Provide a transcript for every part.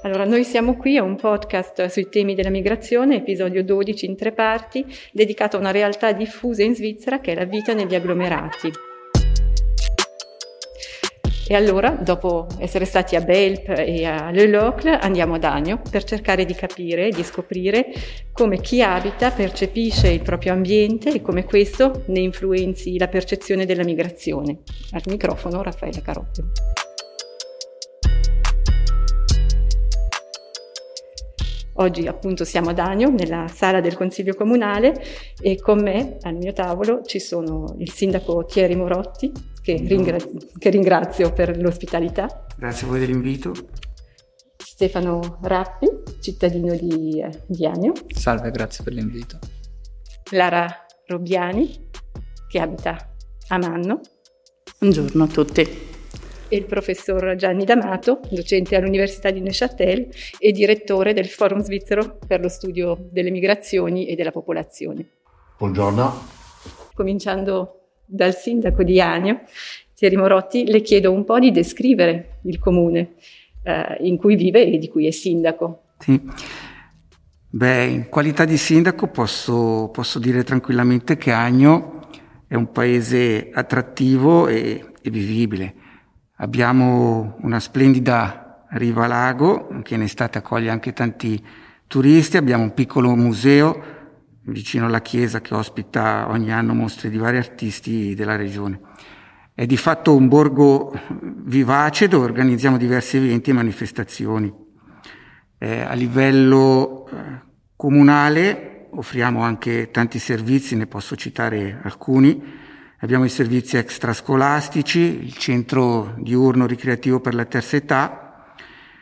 Allora, noi siamo qui a un podcast sui temi della migrazione, episodio 12 in 3 parti, dedicato a una realtà diffusa in Svizzera che è la vita negli agglomerati. E allora, dopo essere stati a Belp e a Le Locle, andiamo ad Agno per cercare di capire e di scoprire come chi abita percepisce il proprio ambiente e come questo ne influenzi la percezione della migrazione. Al microfono Raffaella Carobbio. Oggi appunto siamo ad Agno, nella sala del Consiglio Comunale, e con me al mio tavolo ci sono il sindaco Thierry Morotti, che ringrazio per l'ospitalità. Grazie a voi dell'invito. Stefano Rappi, cittadino di Agno. Salve, grazie per l'invito. Lara Robbiani, che abita a Manno. Buongiorno a tutti. E il professor Gianni D'Amato, docente all'Università di Neuchâtel e direttore del Forum Svizzero per lo studio delle migrazioni e della popolazione. Buongiorno. Cominciando dal sindaco di Agno, Thierry Morotti, le chiedo un po' di descrivere il comune in cui vive e di cui è sindaco. Sì. In qualità di sindaco posso dire tranquillamente che Agno è un paese attrattivo e vivibile. Abbiamo una splendida riva lago che in estate accoglie anche tanti turisti, abbiamo un piccolo museo vicino alla chiesa che ospita ogni anno mostre di vari artisti della regione. È di fatto un borgo vivace dove organizziamo diversi eventi e manifestazioni. A livello comunale offriamo anche tanti servizi, ne posso citare alcuni. Abbiamo i servizi extrascolastici, il centro diurno ricreativo per la terza età.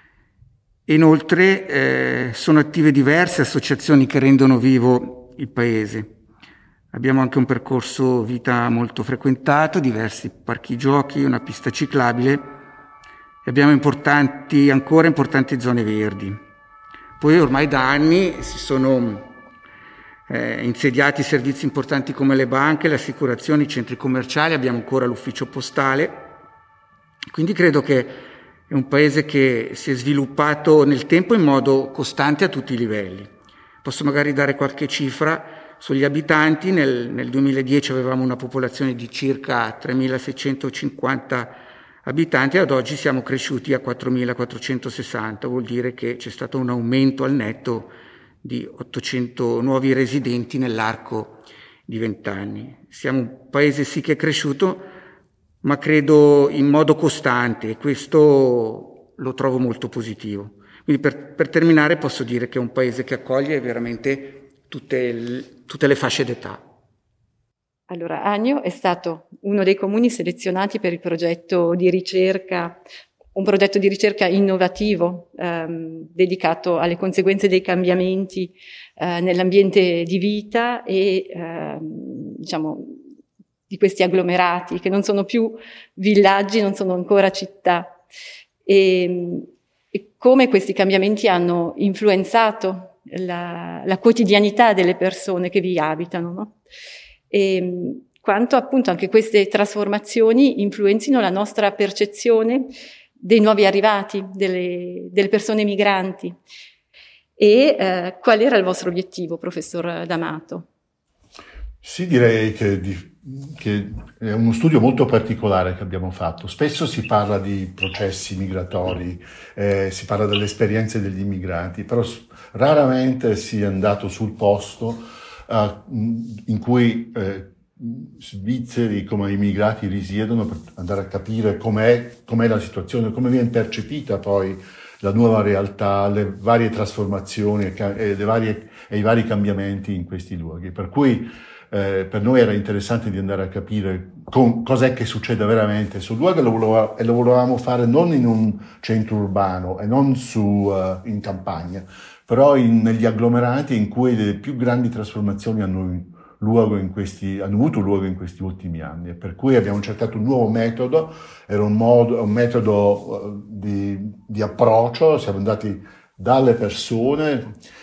Inoltre sono attive diverse associazioni che rendono vivo il paese. Abbiamo anche un percorso vita molto frequentato, diversi parchi giochi, una pista ciclabile e abbiamo ancora importanti zone verdi. Poi ormai da anni si sono insediati servizi importanti come le banche, le assicurazioni, i centri commerciali, abbiamo ancora l'ufficio postale, quindi credo che è un paese che si è sviluppato nel tempo in modo costante a tutti i livelli. Posso magari dare qualche cifra sugli abitanti. Nel 2010 avevamo una popolazione di circa 3.650 abitanti, ad oggi siamo cresciuti a 4.460, vuol dire che c'è stato un aumento al netto di 800 nuovi residenti nell'arco di 20 anni. Siamo un paese sì che è cresciuto, ma credo in modo costante e questo lo trovo molto positivo. Quindi per terminare posso dire che è un paese che accoglie veramente tutte le fasce d'età. Allora, Agno è stato uno dei comuni selezionati per il progetto di ricerca, un progetto di ricerca innovativo dedicato alle conseguenze dei cambiamenti nell'ambiente di vita e di questi agglomerati che non sono più villaggi, non sono ancora città, e come questi cambiamenti hanno influenzato la quotidianità delle persone che vi abitano, no? E quanto appunto anche queste trasformazioni influenzino la nostra percezione dei nuovi arrivati, delle persone migranti. E qual era il vostro obiettivo, professor D'Amato? Sì, direi che è uno studio molto particolare che abbiamo fatto. Spesso si parla di processi migratori, si parla delle esperienze degli immigranti, però raramente si è andato sul posto in cui svizzeri come immigrati risiedono per andare a capire com'è la situazione, come viene percepita poi la nuova realtà, le varie trasformazioni e i vari cambiamenti in questi luoghi. Per cui per noi era interessante di andare a capire cos'è che succede veramente sul luogo e lo volevamo fare non in un centro urbano e non in campagna, però negli agglomerati in cui le più grandi trasformazioni hanno avuto luogo in questi ultimi anni, e per cui abbiamo cercato un nuovo metodo, era un metodo di approccio, siamo andati dalle persone,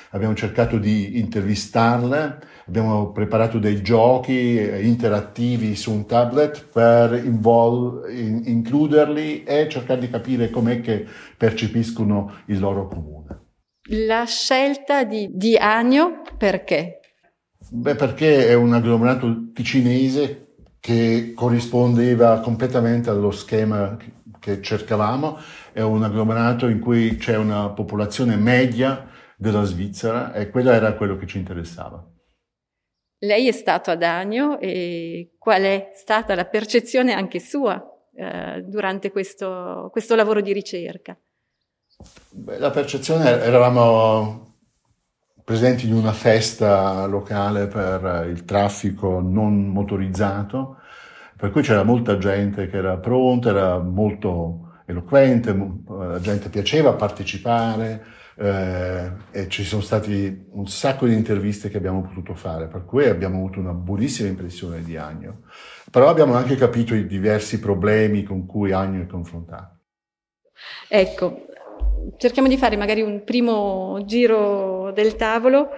abbiamo cercato di intervistarle, abbiamo preparato dei giochi interattivi su un tablet per includerli e cercare di capire com'è che percepiscono il loro comune. La scelta di Agno, perché? Perché è un agglomerato ticinese che corrispondeva completamente allo schema che cercavamo. È un agglomerato in cui c'è una popolazione media della Svizzera e quello era quello che ci interessava. Lei è stato ad Agno e qual è stata la percezione anche sua durante questo lavoro di ricerca? La percezione, eravamo presenti in una festa locale per il traffico non motorizzato, per cui c'era molta gente che era pronta, era molto eloquente, la gente piaceva partecipare e ci sono stati un sacco di interviste che abbiamo potuto fare, per cui abbiamo avuto una buonissima impressione di Agno. Però abbiamo anche capito i diversi problemi con cui Agno è confrontato. Ecco, cerchiamo di fare magari un primo giro del tavolo,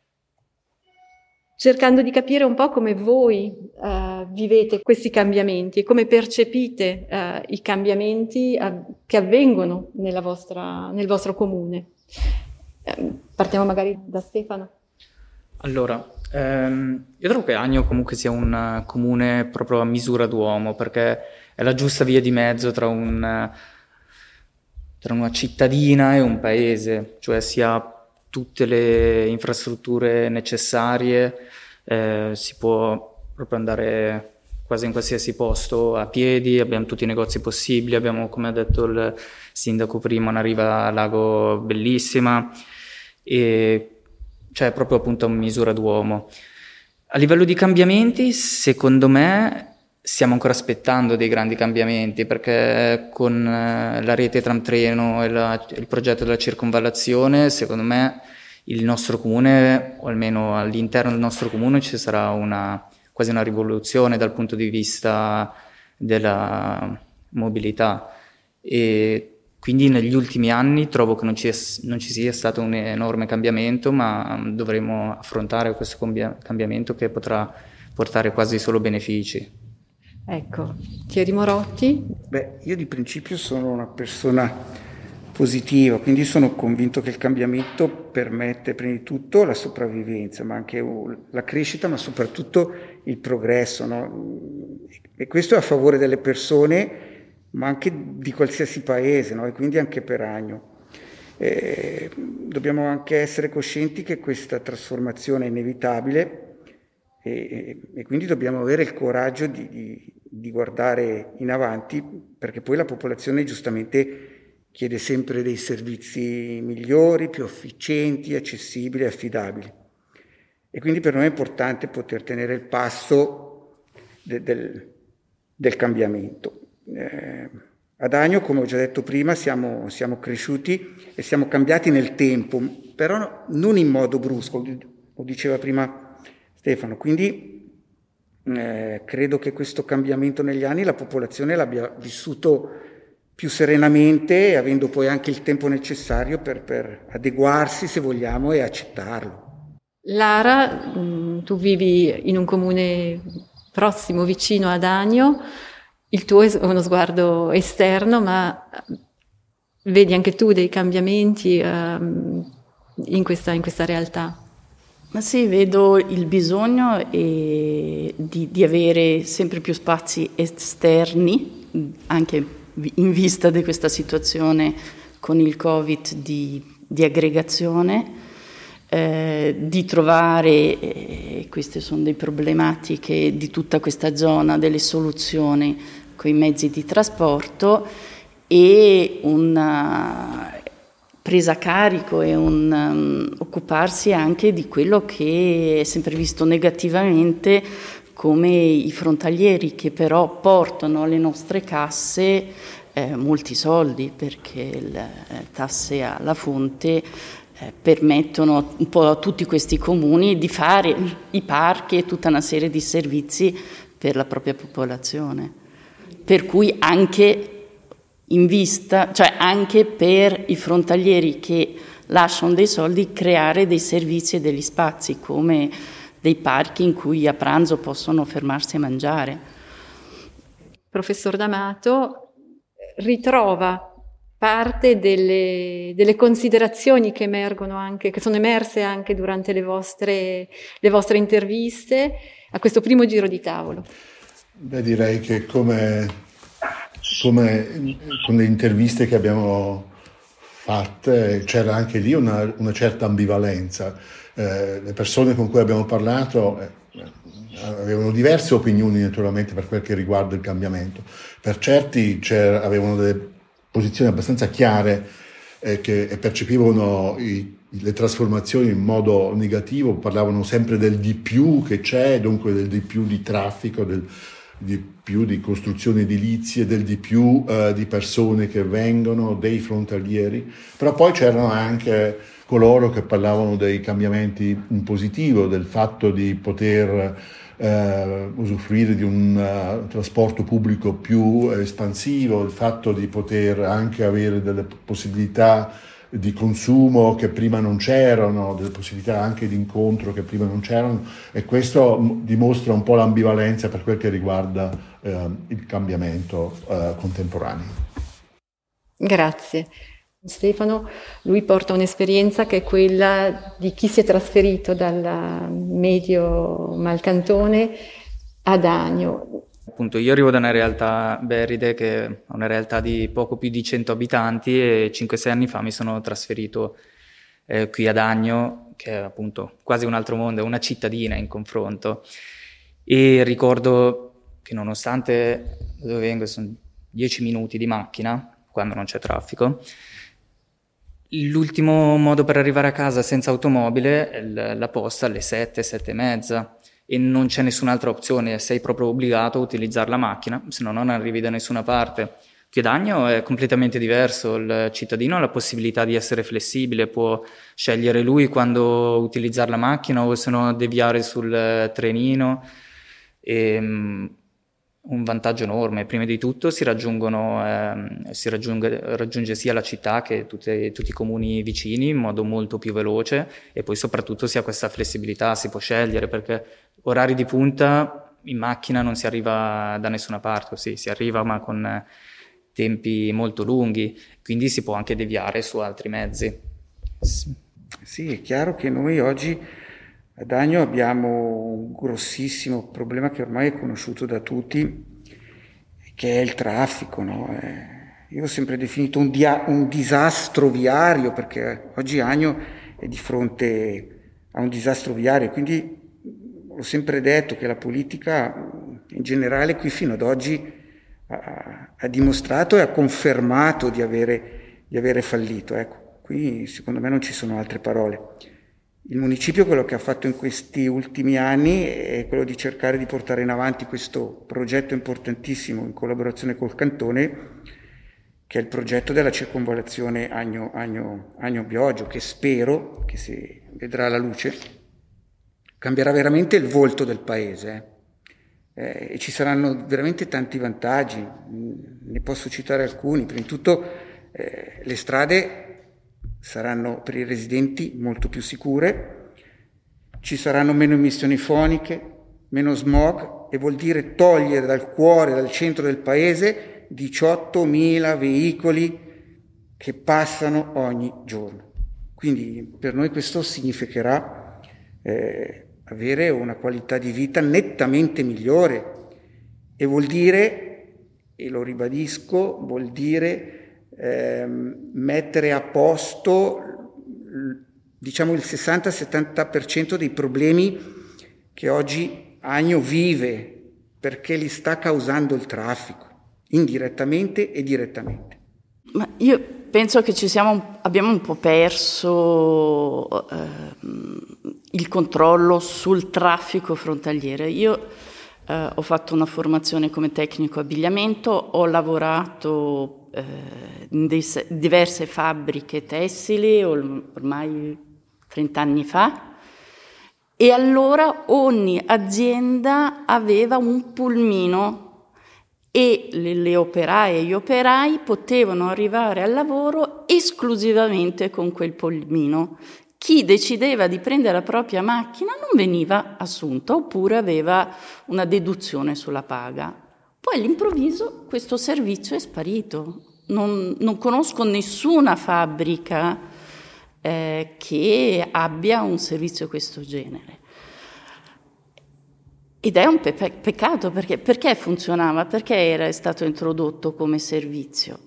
cercando di capire un po' come voi vivete questi cambiamenti e come percepite i cambiamenti che avvengono nel vostro comune. Partiamo magari da Stefano. Allora, io trovo che Agno comunque sia un comune proprio a misura d'uomo, perché è la giusta via di mezzo tra una cittadina e un paese, cioè si ha tutte le infrastrutture necessarie, si può proprio andare quasi in qualsiasi posto a piedi, abbiamo tutti i negozi possibili, abbiamo, come ha detto il sindaco prima, una riva a lago bellissima, e cioè proprio appunto a misura d'uomo. A livello di cambiamenti, secondo me stiamo ancora aspettando dei grandi cambiamenti, perché con la rete tram-treno e il progetto della circonvallazione, secondo me il nostro comune, o almeno all'interno del nostro comune, ci sarà quasi una rivoluzione dal punto di vista della mobilità, e quindi negli ultimi anni trovo che non ci sia stato un enorme cambiamento, ma dovremo affrontare questo cambiamento che potrà portare quasi solo benefici. Ecco, Thierry Morotti. Io di principio sono una persona positiva, quindi sono convinto che il cambiamento permette prima di tutto la sopravvivenza, ma anche la crescita, ma soprattutto il progresso, no? E questo è a favore delle persone, ma anche di qualsiasi paese, no? E quindi anche per Agno. Dobbiamo anche essere coscienti che questa trasformazione è inevitabile e quindi dobbiamo avere il coraggio di guardare in avanti, perché poi la popolazione giustamente chiede sempre dei servizi migliori, più efficienti, accessibili, affidabili. E quindi per noi è importante poter tenere il passo del cambiamento. Ad Agno, come ho già detto prima, siamo cresciuti e siamo cambiati nel tempo, però non in modo brusco, lo diceva prima Stefano. Quindi credo che questo cambiamento negli anni la popolazione l'abbia vissuto più serenamente, avendo poi anche il tempo necessario per adeguarsi, se vogliamo, e accettarlo. Lara, tu vivi in un comune prossimo, vicino ad Agno, il tuo è uno sguardo esterno, ma vedi anche tu dei cambiamenti in questa realtà? Ma sì, vedo il bisogno di avere sempre più spazi esterni, anche in vista di questa situazione con il Covid di aggregazione, di trovare, queste sono le problematiche di tutta questa zona, delle soluzioni con i mezzi di trasporto e una presa a carico e occuparsi anche di quello che è sempre visto negativamente come i frontalieri, che però portano alle nostre casse molti soldi, perché le tasse alla fonte permettono un po' a tutti questi comuni di fare i parchi e tutta una serie di servizi per la propria popolazione. Per cui anche in vista, cioè anche per i frontalieri che lasciano dei soldi creare dei servizi e degli spazi come dei parchi in cui a pranzo possono fermarsi a mangiare. Professor D'Amato ritrova parte delle considerazioni che emergono anche, che sono emerse anche durante le vostre interviste a questo primo giro di tavolo. Beh, direi che come con le interviste che abbiamo fatte c'era anche lì una certa ambivalenza. Le persone con cui abbiamo parlato avevano diverse opinioni naturalmente per quel che riguarda il cambiamento. Per certi avevano delle posizioni abbastanza chiare che percepivano le trasformazioni in modo negativo, parlavano sempre del di più che c'è, dunque del di più di traffico, del di più di costruzioni edilizie, del di più di persone che vengono, dei frontalieri, però poi c'erano anche coloro che parlavano dei cambiamenti in positivo, del fatto di poter usufruire di un trasporto pubblico più espansivo, il fatto di poter anche avere delle possibilità di consumo che prima non c'erano, delle possibilità anche di incontro che prima non c'erano, e questo dimostra un po' l'ambivalenza per quel che riguarda il cambiamento contemporaneo. Grazie. Stefano, lui porta un'esperienza che è quella di chi si è trasferito dal Medio Malcantone ad Agno. Appunto, io arrivo da una realtà, Beride, che è una realtà di poco più di 100 abitanti, e 5-6 anni fa mi sono trasferito qui ad Agno, che è appunto quasi un altro mondo, è una cittadina in confronto. E ricordo che nonostante dove vengo sono 10 minuti di macchina, quando non c'è traffico, l'ultimo modo per arrivare a casa senza automobile è la posta alle 7, 7:30, e non c'è nessun'altra opzione, sei proprio obbligato a utilizzare la macchina, se no non arrivi da nessuna parte. Qui ad Agno è completamente diverso, il cittadino ha la possibilità di essere flessibile, può scegliere lui quando utilizzare la macchina o se no deviare sul trenino. Un vantaggio enorme: prima di tutto si raggiunge sia la città che tutti i comuni vicini in modo molto più veloce, e poi soprattutto si ha questa flessibilità, si può scegliere, perché orari di punta in macchina non si arriva da nessuna parte, sì, si arriva ma con tempi molto lunghi, quindi si può anche deviare su altri mezzi. Sì, è chiaro che noi oggi ad Agno abbiamo un grossissimo problema che ormai è conosciuto da tutti, che è il traffico, no? Io ho sempre definito un disastro viario, perché oggi Agno è di fronte a un disastro viario, quindi ho sempre detto che la politica in generale qui fino ad oggi ha dimostrato e ha confermato di avere fallito. Ecco, qui secondo me non ci sono altre parole. Il municipio quello che ha fatto in questi ultimi anni è quello di cercare di portare in avanti questo progetto importantissimo in collaborazione col Cantone, che è il progetto della circonvallazione Agno-Bioggio, che spero che, se vedrà la luce, cambierà veramente il volto del paese. E ci saranno veramente tanti vantaggi, ne posso citare alcuni. Prima di tutto le strade saranno per i residenti molto più sicure, ci saranno meno emissioni foniche, meno smog, e vuol dire togliere dal cuore, dal centro del paese 18.000 veicoli che passano ogni giorno. Quindi per noi questo significherà avere una qualità di vita nettamente migliore, e vuol dire, e lo ribadisco, vuol dire mettere a posto, diciamo, il 60-70% dei problemi che oggi Agno vive, perché li sta causando il traffico, indirettamente e direttamente. Ma io penso che abbiamo un po' perso il controllo sul traffico frontaliere. Io ho fatto una formazione come tecnico abbigliamento, ho lavorato in diverse fabbriche tessili ormai 30 anni fa, e allora ogni azienda aveva un pulmino e le operaie e gli operai potevano arrivare al lavoro esclusivamente con quel pulmino. Chi decideva di prendere la propria macchina non veniva assunto, oppure aveva una deduzione sulla paga. Poi all'improvviso questo servizio è sparito. Non conosco nessuna fabbrica che abbia un servizio di questo genere. Ed è un peccato, perché funzionava, perché era stato introdotto come servizio.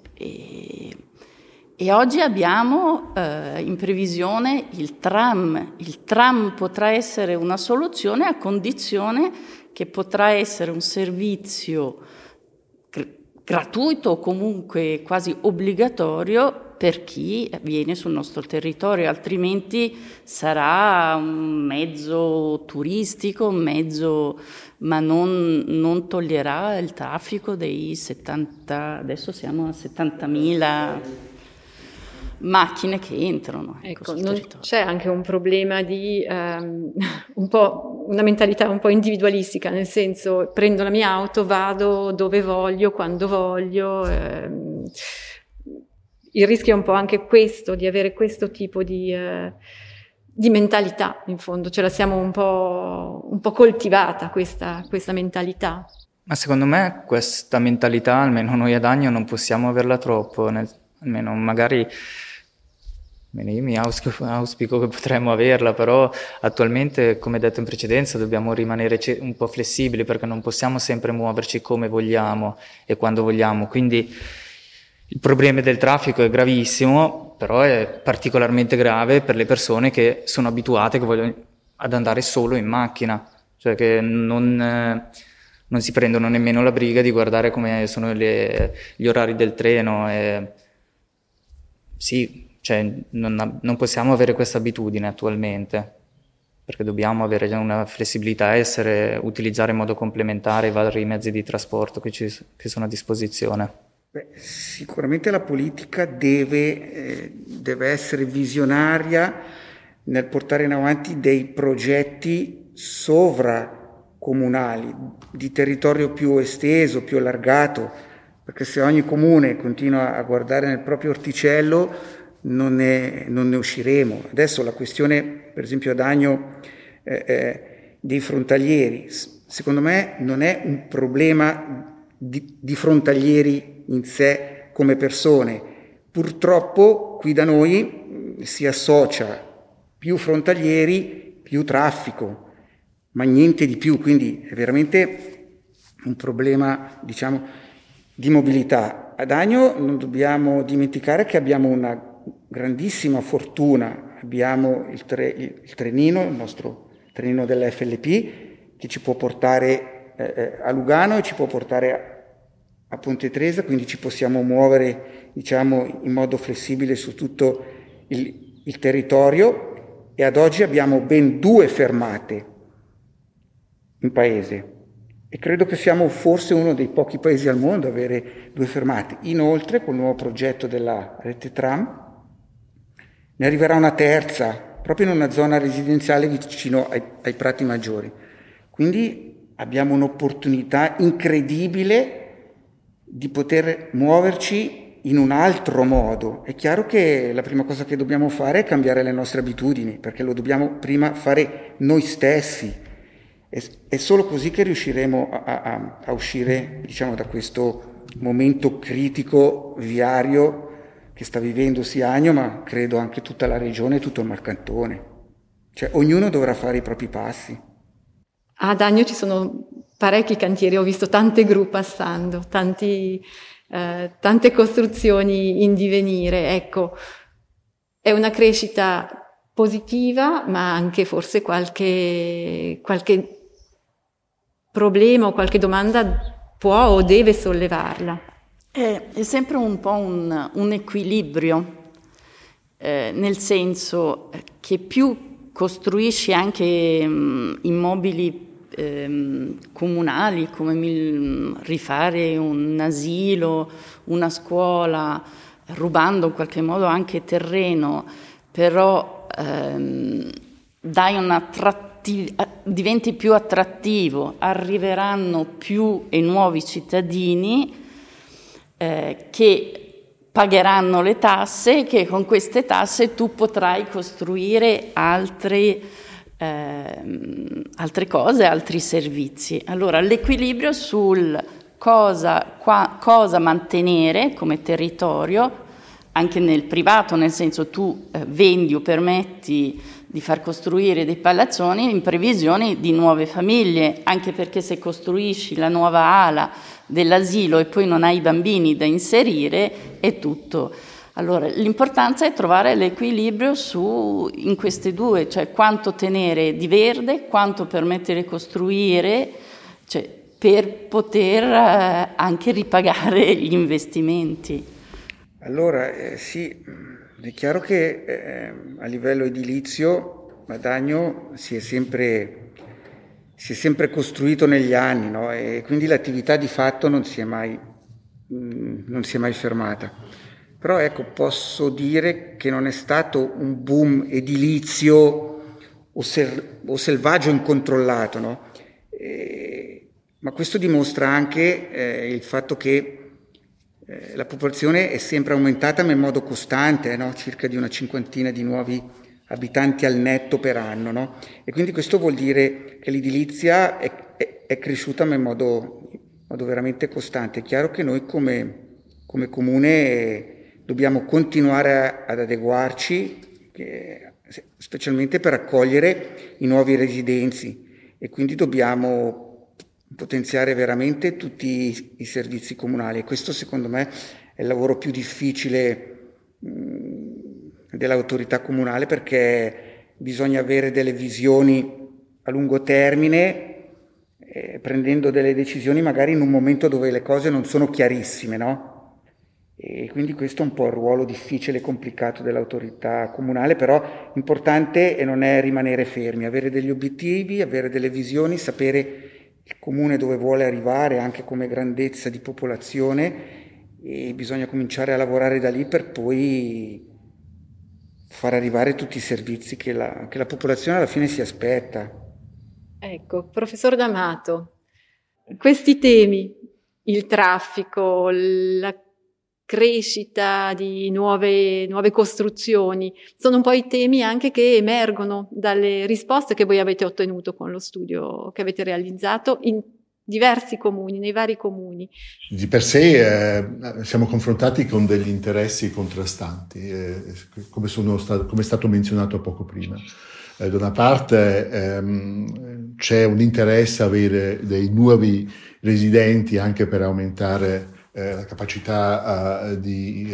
E oggi abbiamo in previsione il tram. Il tram potrà essere una soluzione a condizione che potrà essere un servizio gratuito o comunque quasi obbligatorio per chi viene sul nostro territorio, altrimenti sarà un mezzo turistico, ma non toglierà il traffico dei 70, adesso siamo a 70.000 macchine che entrano. Ecco, c'è anche un problema di un po' una mentalità un po' individualistica, nel senso prendo la mia auto, vado dove voglio, quando voglio. Il rischio è un po' anche questo, di avere questo tipo di mentalità, in fondo, ce la siamo un po' coltivata questa mentalità. Ma secondo me questa mentalità, almeno noi ad Agno, non possiamo averla troppo, almeno magari io mi auspico che potremmo averla, però attualmente, come detto in precedenza, dobbiamo rimanere un po' flessibili, perché non possiamo sempre muoverci come vogliamo e quando vogliamo, quindi il problema del traffico è gravissimo, però è particolarmente grave per le persone che sono abituate, che vogliono ad andare solo in macchina, cioè che non si prendono nemmeno la briga di guardare come sono gli orari del treno. Sì, cioè non possiamo avere questa abitudine attualmente, perché dobbiamo avere una flessibilità e utilizzare in modo complementare i vari mezzi di trasporto che sono a disposizione. Sicuramente la politica deve essere visionaria nel portare in avanti dei progetti sovracomunali, di territorio più esteso, più allargato, perché se ogni comune continua a guardare nel proprio orticello non ne usciremo. Adesso la questione, per esempio ad Agno, dei frontalieri, secondo me non è un problema di frontalieri in sé come persone. Purtroppo qui da noi si associa più frontalieri, più traffico, ma niente di più, quindi è veramente un problema, diciamo, di mobilità. Ad Agno non dobbiamo dimenticare che abbiamo una grandissima fortuna, abbiamo il trenino, il nostro trenino della FLP, che ci può portare a Lugano e ci può portare a Ponte Tresa, quindi ci possiamo muovere, diciamo, in modo flessibile su tutto il territorio, e ad oggi abbiamo ben 2 fermate in paese e credo che siamo forse uno dei pochi paesi al mondo a avere 2 fermate. Inoltre, col nuovo progetto della rete tram ne arriverà una terza proprio in una zona residenziale vicino ai Prati Maggiori, quindi abbiamo un'opportunità incredibile di poter muoverci in un altro modo. È chiaro che la prima cosa che dobbiamo fare è cambiare le nostre abitudini, perché lo dobbiamo prima fare noi stessi. È solo così che riusciremo a uscire, diciamo, da questo momento critico viario che sta vivendo sia Agno, ma credo anche tutta la regione e tutto il Marcantone. Cioè ognuno dovrà fare i propri passi. Ad Agno ci sono parecchi cantieri, ho visto tante gru passando, tante costruzioni in divenire. Ecco, è una crescita positiva, ma anche forse qualche problema o qualche domanda può o deve sollevarla. È sempre un po' un equilibrio, nel senso che più costruisci anche immobili comunali, come rifare un asilo, una scuola, rubando in qualche modo anche terreno, però dai una diventi più attrattivo, arriveranno più e nuovi cittadini che pagheranno le tasse e che con queste tasse tu potrai costruire altre cose, altri servizi. Allora l'equilibrio sul cosa mantenere come territorio, anche nel privato, nel senso tu vendi o permetti di far costruire dei palazzoni in previsione di nuove famiglie, anche perché se costruisci la nuova ala dell'asilo e poi non hai i bambini da inserire è tutto. Allora l'importanza è trovare l'equilibrio in queste due, cioè quanto tenere di verde, quanto permettere di costruire, cioè, per poter anche ripagare gli investimenti. Allora, sì, è chiaro che a livello edilizio Madagno si è sempre costruito negli anni, no? E quindi l'attività di fatto non si è mai fermata. Però ecco, posso dire che non è stato un boom edilizio o selvaggio incontrollato, no? Ma questo dimostra anche il fatto che la popolazione è sempre aumentata ma in modo costante, no? Circa di una 50 di nuovi abitanti al netto per anno, no? E quindi questo vuol dire che l'edilizia è cresciuta ma in modo veramente costante. È chiaro che noi come comune dobbiamo continuare ad adeguarci, specialmente per accogliere i nuovi residenti, e quindi dobbiamo potenziare veramente tutti i servizi comunali. E questo secondo me è il lavoro più difficile dell'autorità comunale, perché bisogna avere delle visioni a lungo termine, prendendo delle decisioni magari in un momento dove le cose non sono chiarissime, no? E quindi questo è un po' il ruolo difficile e complicato dell'autorità comunale, però importante e non è rimanere fermi, avere degli obiettivi, avere delle visioni, sapere il comune dove vuole arrivare anche come grandezza di popolazione, e bisogna cominciare a lavorare da lì per poi far arrivare tutti i servizi che la popolazione alla fine si aspetta. Ecco, professor D'Amato, questi temi, il traffico, la crescita di nuove costruzioni, sono un po' i temi anche che emergono dalle risposte che voi avete ottenuto con lo studio che avete realizzato in diversi comuni, nei vari comuni. Di per sé siamo confrontati con degli interessi contrastanti, come è stato menzionato poco prima. Da una parte c'è un interesse a avere dei nuovi residenti anche per aumentare la capacità di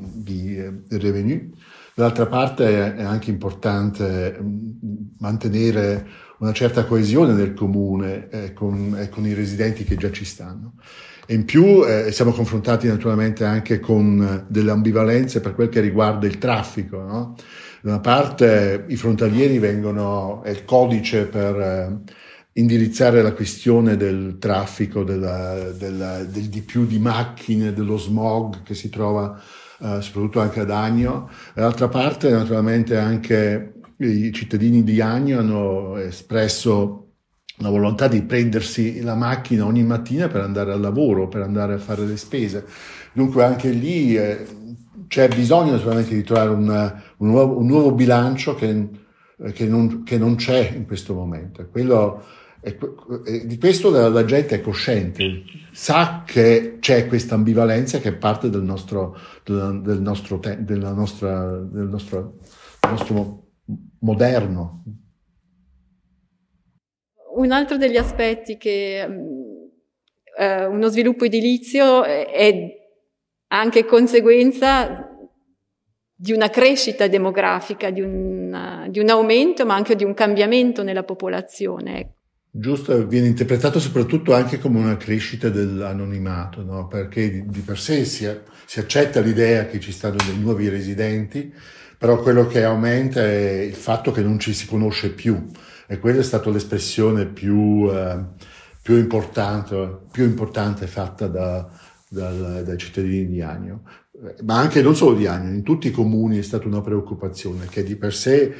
revenue. Dall'altra parte è anche importante mantenere una certa coesione del comune con i residenti che già ci stanno. E in più siamo confrontati naturalmente anche con delle ambivalenze per quel che riguarda il traffico, no? Da una parte i frontalieri è il codice per indirizzare la questione del traffico, del di più di macchine, dello smog che si trova soprattutto anche ad Agno. Dall'altra parte naturalmente anche i cittadini di Agno hanno espresso la volontà di prendersi la macchina ogni mattina per andare al lavoro, per andare a fare le spese. Dunque anche lì c'è bisogno naturalmente di trovare un nuovo bilancio che non c'è in questo momento. Di questo la gente è cosciente, sa che c'è questa ambivalenza che è parte del nostro moderno. Un altro degli aspetti che uno sviluppo edilizio è anche conseguenza di una crescita demografica, di un aumento, ma anche di un cambiamento nella popolazione. Giusto, viene interpretato soprattutto anche come una crescita dell'anonimato, no? Perché di per sé si accetta l'idea che ci stanno dei nuovi residenti, però quello che aumenta è il fatto che non ci si conosce più, e quella è stata l'espressione più importante fatta dai cittadini di Agno, ma anche non solo di Agno, in tutti i comuni è stata una preoccupazione che di per sé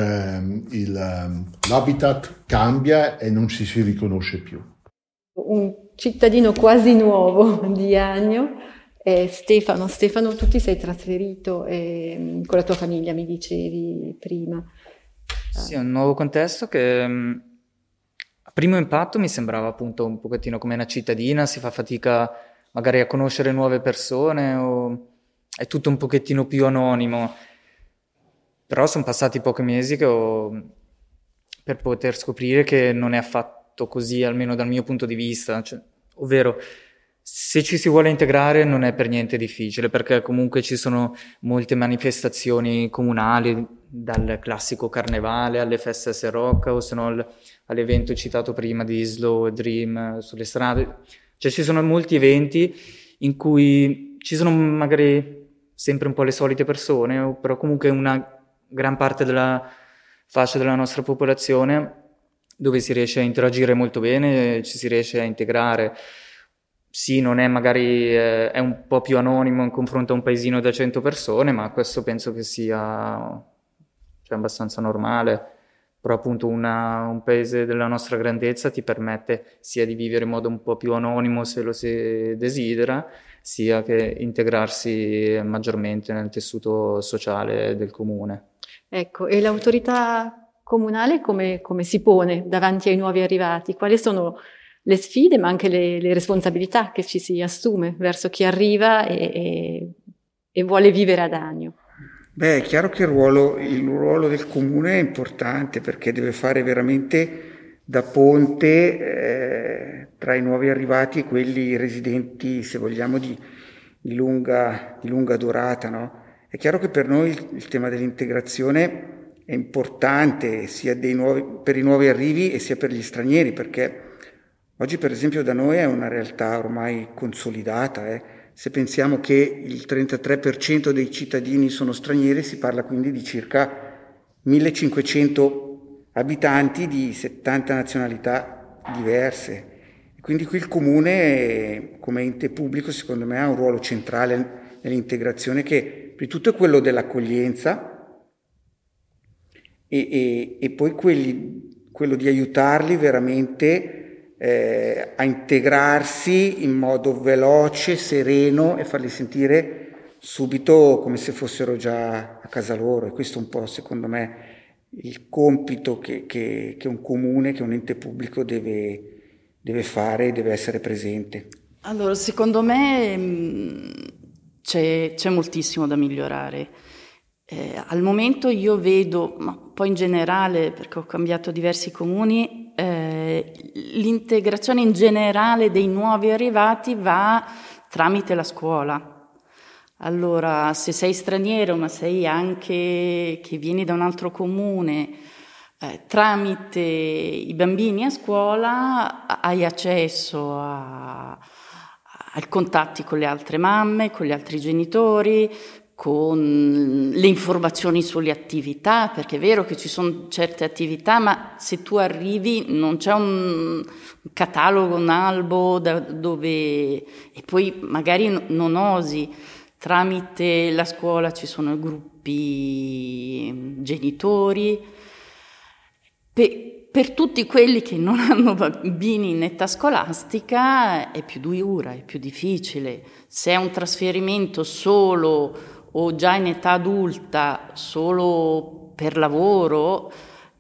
l'habitat cambia e non ci si riconosce più. Un cittadino quasi nuovo di Agno è Stefano. Stefano, tu ti sei trasferito con la tua famiglia, mi dicevi prima. Sì, è un nuovo contesto che a primo impatto mi sembrava appunto un pochettino come una cittadina, si fa fatica magari a conoscere nuove persone, o è tutto un pochettino più anonimo. Però sono passati pochi mesi per poter scoprire che non è affatto così, almeno dal mio punto di vista. Ovvero, se ci si vuole integrare non è per niente difficile, perché comunque ci sono molte manifestazioni comunali, dal classico carnevale alle feste a Rock, o se no all'evento citato prima di Slow Dream sulle strade. Cioè ci sono molti eventi in cui ci sono magari sempre un po' le solite persone, però comunque una gran parte della fascia della nostra popolazione dove si riesce a interagire molto bene, ci si riesce a integrare. Sì, non è magari, è un po' più anonimo in confronto a un paesino da 100 persone, ma questo penso che sia abbastanza normale. Però appunto un paese della nostra grandezza ti permette sia di vivere in modo un po' più anonimo se lo si desidera, sia che integrarsi maggiormente nel tessuto sociale del comune. Ecco, e l'autorità comunale come si pone davanti ai nuovi arrivati? Quali sono le sfide, ma anche le responsabilità che ci si assume verso chi arriva e vuole vivere ad Agno? Beh, è chiaro che il ruolo del comune è importante perché deve fare veramente da ponte tra i nuovi arrivati e quelli residenti, se vogliamo, di lunga durata, no? È chiaro che per noi il tema dell'integrazione è importante sia per i nuovi arrivi e sia per gli stranieri, perché oggi per esempio da noi è una realtà ormai consolidata. Se pensiamo che il 33% dei cittadini sono stranieri, si parla quindi di circa 1500 abitanti di 70 nazionalità diverse. E quindi qui il comune, come ente pubblico, secondo me ha un ruolo centrale nell'integrazione, che prima di tutto è quello dell'accoglienza e poi quello di aiutarli veramente a integrarsi in modo veloce, sereno e farli sentire subito come se fossero già a casa loro. E questo è un po', secondo me, il compito che un comune, che un ente pubblico deve fare, deve essere presente. Allora, secondo me c'è moltissimo da migliorare. Al momento io vedo, ma poi in generale, perché ho cambiato diversi comuni, l'integrazione in generale dei nuovi arrivati va tramite la scuola. Allora, se sei straniero, ma sei anche che vieni da un altro comune, tramite i bambini a scuola hai accesso ai contatti con le altre mamme, con gli altri genitori, con le informazioni sulle attività, perché è vero che ci sono certe attività, ma se tu arrivi non c'è un catalogo, un albo dove... e poi magari non osi. Tramite la scuola ci sono gruppi genitori. Per tutti quelli che non hanno bambini in età scolastica è più dura, è più difficile. Se è un trasferimento solo o già in età adulta, solo per lavoro,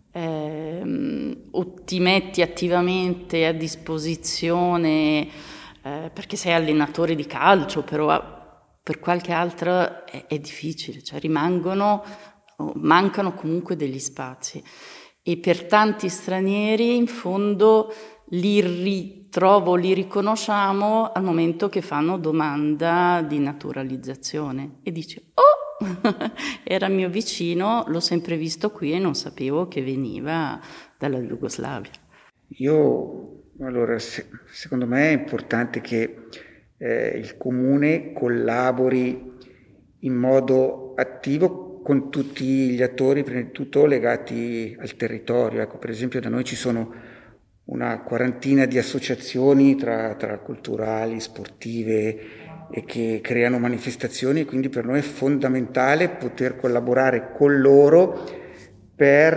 o ti metti attivamente a disposizione perché sei allenatore di calcio, però per qualche altro è difficile, cioè mancano comunque degli spazi. E per tanti stranieri, in fondo, li riconosciamo al momento che fanno domanda di naturalizzazione e dici, oh, era mio vicino, l'ho sempre visto qui e non sapevo che veniva dalla Jugoslavia. Allora, secondo me è importante che il comune collabori in modo attivo con tutti gli attori, prima di tutto legati al territorio. Ecco, per esempio da noi ci sono una quarantina di associazioni tra culturali, sportive, e che creano manifestazioni, e quindi per noi è fondamentale poter collaborare con loro per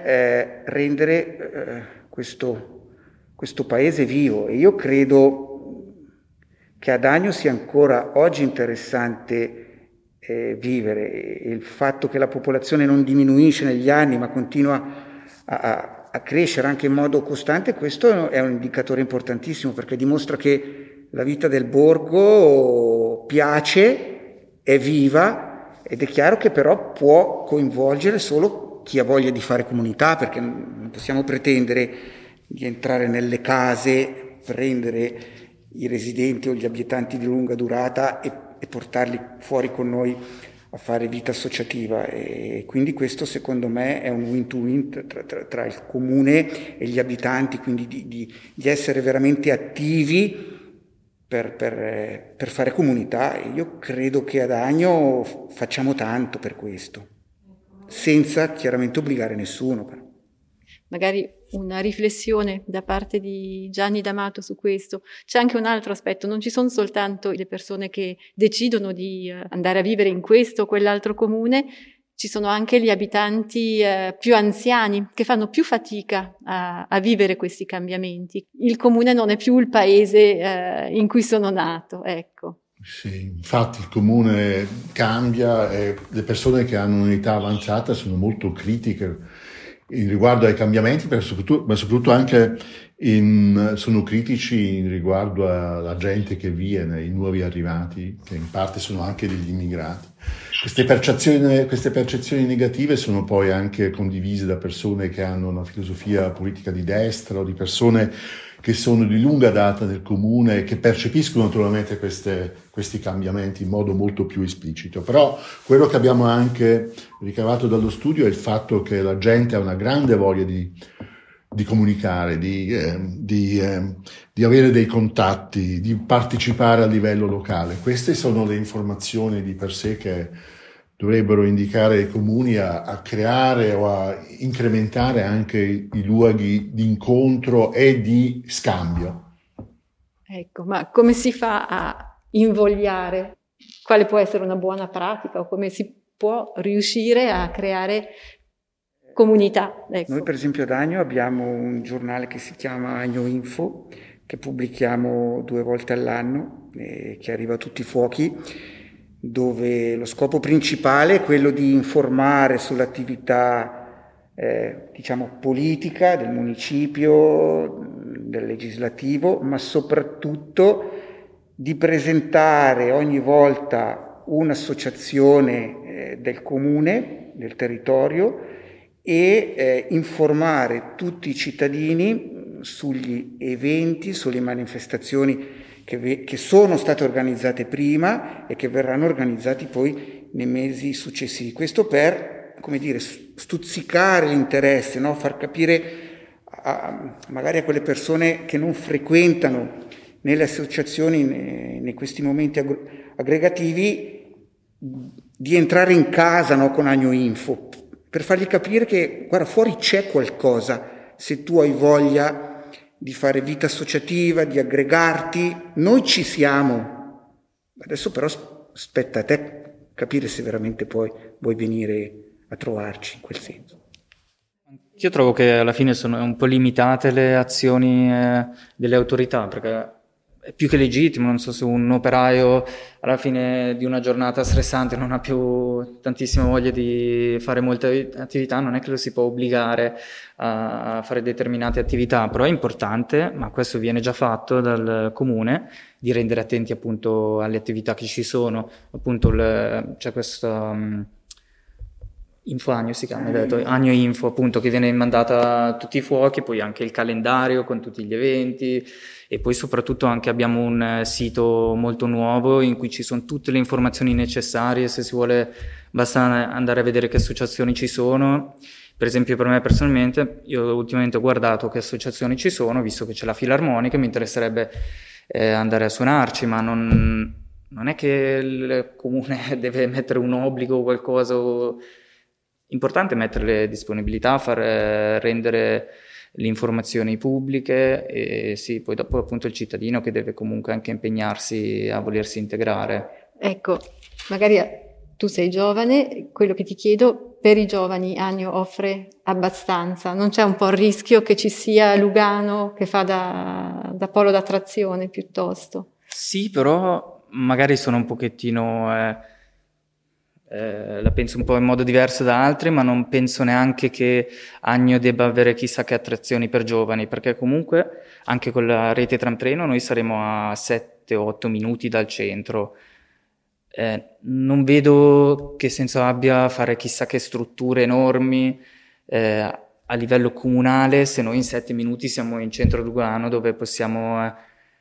rendere questo paese vivo. E io credo che ad Agno sia ancora oggi interessante vivere. Il fatto che la popolazione non diminuisce negli anni ma continua a crescere anche in modo costante, questo è un indicatore importantissimo, perché dimostra che la vita del borgo piace, è viva, ed è chiaro che però può coinvolgere solo chi ha voglia di fare comunità, perché non possiamo pretendere di entrare nelle case, prendere i residenti o gli abitanti di lunga durata e portarli fuori con noi a fare vita associativa. E quindi questo secondo me è un win-to-win tra il comune e gli abitanti, quindi di essere veramente attivi per fare comunità. E io credo che ad Agno facciamo tanto per questo, senza chiaramente obbligare nessuno. Però. Magari una riflessione da parte di Gianni D'Amato su questo. C'è anche un altro aspetto: non ci sono soltanto le persone che decidono di andare a vivere in questo o quell'altro comune, ci sono anche gli abitanti più anziani che fanno più fatica a vivere questi cambiamenti. Il comune non è più il paese in cui sono nato, ecco. Sì, infatti il comune cambia e le persone che hanno un'età avanzata sono molto critiche in riguardo ai cambiamenti, ma soprattutto anche sono critici in riguardo alla gente che viene, i nuovi arrivati, che in parte sono anche degli immigrati. Queste percezioni negative sono poi anche condivise da persone che hanno una filosofia politica di destra o di persone che sono di lunga data nel comune e che percepiscono naturalmente questi cambiamenti in modo molto più esplicito. Però quello che abbiamo anche ricavato dallo studio è il fatto che la gente ha una grande voglia di comunicare, di avere dei contatti, di partecipare a livello locale. Queste sono le informazioni di per sé che dovrebbero indicare i comuni a creare o a incrementare anche i luoghi di incontro e di scambio. Ecco, ma come si fa a invogliare? Quale può essere una buona pratica o come si può riuscire a creare comunità? Ecco. Noi per esempio ad Agno abbiamo un giornale che si chiama Agno Info, che pubblichiamo 2 volte all'anno, che arriva a tutti i fuochi, dove lo scopo principale è quello di informare sull'attività politica del municipio, del legislativo, ma soprattutto di presentare ogni volta un'associazione del comune, del territorio, e informare tutti i cittadini sugli eventi, sulle manifestazioni che sono state organizzate prima e che verranno organizzati poi nei mesi successivi. Questo per, stuzzicare l'interesse, no? Far capire magari a quelle persone che non frequentano nelle associazioni, in questi momenti aggregativi, di entrare in casa, no? Con Agno Info, per fargli capire che, guarda, fuori c'è qualcosa, se tu hai voglia di fare vita associativa, di aggregarti, noi ci siamo. Adesso però spetta a te capire se veramente poi vuoi venire a trovarci in quel senso. Io trovo che alla fine sono un po' limitate le azioni delle autorità, perché è più che legittimo, non so se un operaio alla fine di una giornata stressante non ha più tantissima voglia di fare molte attività, non è che lo si può obbligare a fare determinate attività, però è importante, ma questo viene già fatto dal comune, di rendere attenti appunto alle attività che ci sono. Appunto c'è questo Info Agno si chiama, detto, Agno Info, appunto, che viene mandata a tutti i fuochi, poi anche il calendario con tutti gli eventi, e poi soprattutto anche abbiamo un sito molto nuovo in cui ci sono tutte le informazioni necessarie, se si vuole basta andare a vedere che associazioni ci sono. Per esempio per me personalmente, io ultimamente ho guardato che associazioni ci sono, visto che c'è la filarmonica, mi interesserebbe andare a suonarci, ma non è che il comune deve mettere un obbligo o qualcosa. Importante mettere le disponibilità, far rendere le informazioni pubbliche e sì, poi dopo appunto il cittadino che deve comunque anche impegnarsi a volersi integrare. Ecco, magari tu sei giovane, quello che ti chiedo, per i giovani Agno offre abbastanza, non c'è un po' il rischio che ci sia Lugano che fa da polo d'attrazione piuttosto? Sì, però magari sono un pochettino, la penso un po' in modo diverso da altri, ma non penso neanche che Agno debba avere chissà che attrazioni per giovani, perché comunque anche con la rete tram treno noi saremo a 7-8 minuti dal centro. Non vedo che senso abbia fare chissà che strutture enormi a livello comunale se noi in 7 minuti siamo in centro a Lugano, dove possiamo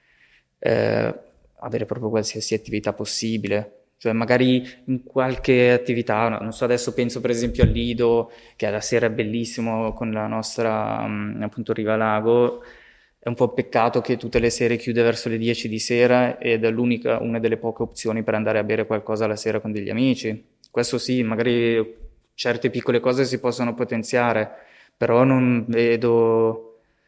avere proprio qualsiasi attività possibile. Cioè magari in qualche attività, non so, adesso penso per esempio al Lido, che la sera è bellissimo con la nostra appunto Riva Lago. È un po' peccato che tutte le sere chiude verso le 10 di sera ed è una delle poche opzioni per andare a bere qualcosa la sera con degli amici. Questo sì, magari certe piccole cose si possono potenziare, però non vedo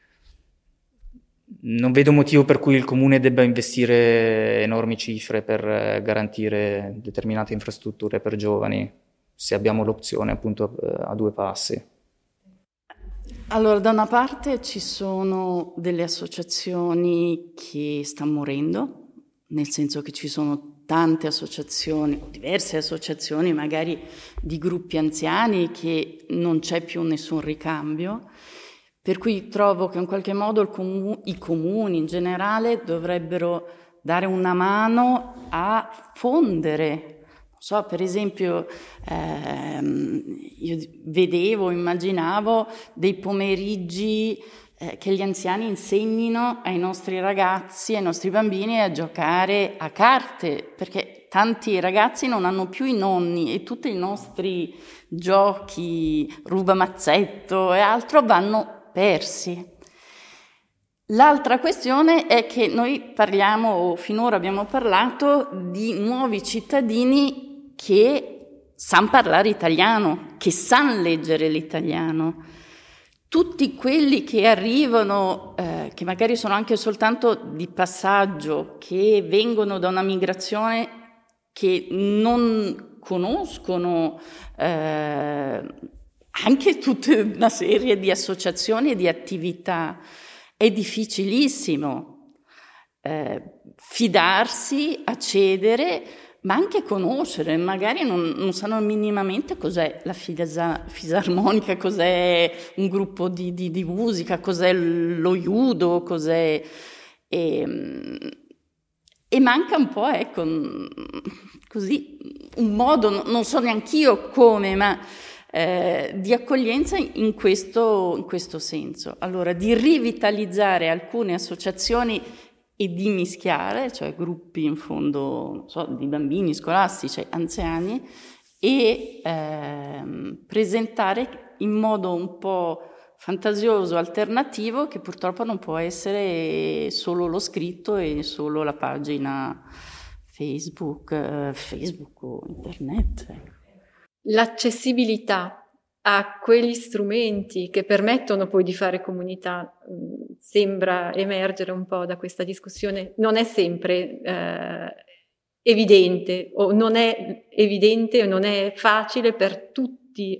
motivo per cui il comune debba investire enormi cifre per garantire determinate infrastrutture per giovani, se abbiamo l'opzione appunto a 2 passi. Allora, da una parte ci sono delle associazioni che stanno morendo, nel senso che ci sono tante associazioni, o diverse associazioni magari di gruppi anziani che non c'è più nessun ricambio, per cui trovo che in qualche modo i comuni in generale dovrebbero dare una mano a fondere. So, per esempio, io immaginavo dei pomeriggi che gli anziani insegnino ai nostri ragazzi, ai nostri bambini a giocare a carte, perché tanti ragazzi non hanno più i nonni e tutti i nostri giochi, rubamazzetto e altro vanno persi. L'altra questione è che noi o finora abbiamo parlato di nuovi cittadini che sanno parlare italiano, che sanno leggere l'italiano. Tutti quelli che arrivano, che magari sono anche soltanto di passaggio, che vengono da una migrazione che non conoscono anche tutta una serie di associazioni e di attività, è difficilissimo fidarsi, accedere, ma anche conoscere, magari non sanno minimamente cos'è la fisarmonica, cos'è un gruppo di musica, cos'è lo judo, cos'è... E manca un po', ecco, così, un modo, non so neanch'io come, ma di accoglienza in questo senso. Allora, di rivitalizzare alcune associazioni e di mischiare, cioè gruppi in fondo, non so, di bambini scolastici, anziani, e presentare in modo un po' fantasioso, alternativo, che purtroppo non può essere solo lo scritto e solo la pagina Facebook o internet. L'accessibilità a quegli strumenti che permettono poi di fare comunità sembra emergere un po' da questa discussione. Non è sempre evidente o non è evidente o non è facile per tutti